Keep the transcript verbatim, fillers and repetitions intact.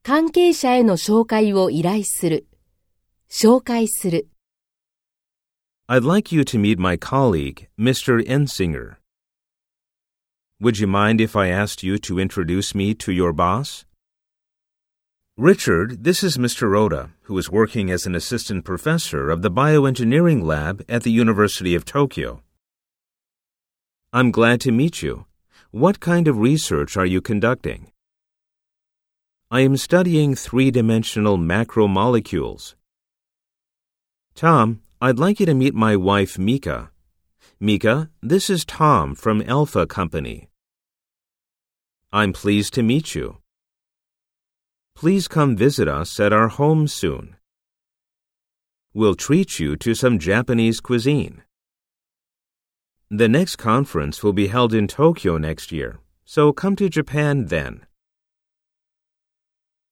関係者への紹介を依頼する。紹介する。 I'd like you to meet my colleague, Mister Ensinger. Would you mind if I asked you to introduce me to your boss? Richard, this is Mister Oda, who is working as an assistant professor of the bioengineering lab at the University of Tokyo. I'm glad to meet you. What kind of research are you conducting? I am studying three-dimensional macromolecules. Tom, I'd like you to meet my wife, Mika. Mika, this is Tom from Alpha Company. I'm pleased to meet you. Please come visit us at our home soon. We'll treat you to some Japanese cuisine. The next conference will be held in Tokyo next year, so come to Japan then.